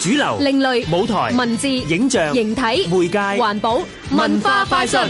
主流、 另類舞台、 文字、 影像、 形體、 媒介、 環保、文化快訊。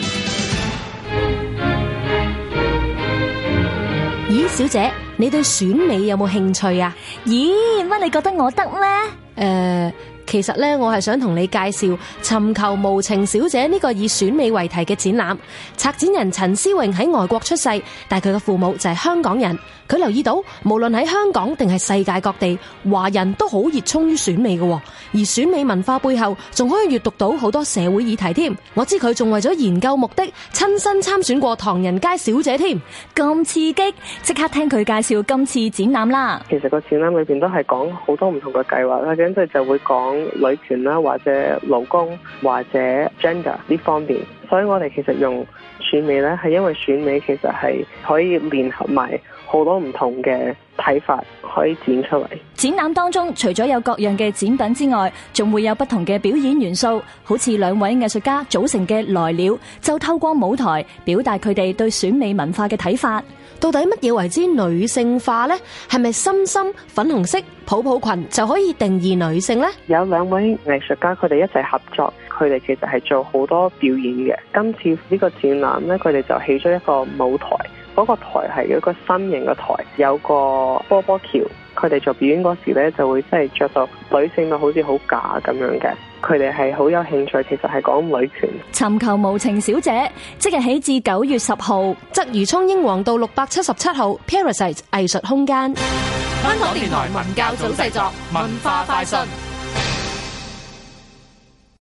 咦，小姐，你對選美有冇興趣啊？ 咦，乜你覺得我得咩？ 其實咧，我係想同你介紹《尋求無情小姐》呢個以選美為題嘅展覽。策展人陳思穎喺外國出世，但佢嘅父母就係香港人。佢留意到，無論喺香港定係世界各地，華人都好熱衷於選美嘅。而選美文化背後，仲可以閱讀到好多社會議題添。我知佢仲為咗研究目的，親身參選過唐人街小姐添。 咁刺激，即刻聽佢介紹今次展覽啦。 其實個展覽裏邊都係講好多唔同嘅計劃啦，跟住就會講女權啦，或者勞工，或者 gender 呢方面。所以我哋其實用選美咧，係因為選美其實係可以聯合埋好多唔同嘅睇法，可以展出嚟。 展覽當中除咗有各樣嘅展品之外，仲會有不同嘅表演元素，好似兩位藝術家組成嘅來了，就透過舞台表達佢哋對選美文化嘅睇法。 到底乜嘢為之女性化呢？係咪深深粉紅色泡泡裙就可以定義女性呢？ 有兩位藝術家佢哋一齊合作，佢哋其實係做好多表演嘅。今次呢個展覽呢，佢哋就起咗一個舞台，嗰個台係一個新型嘅台，有個波波橋。佢哋做表演嗰時呢，就會真係着到女性到好似好假咁樣嘅。佢哋係好有興趣，其實係講女權。 尋求無情小姐，即日起至9月10號， 鰂魚涌英皇道677號 Parasite 藝術空間。 香港電台文教組製作，文化快訊。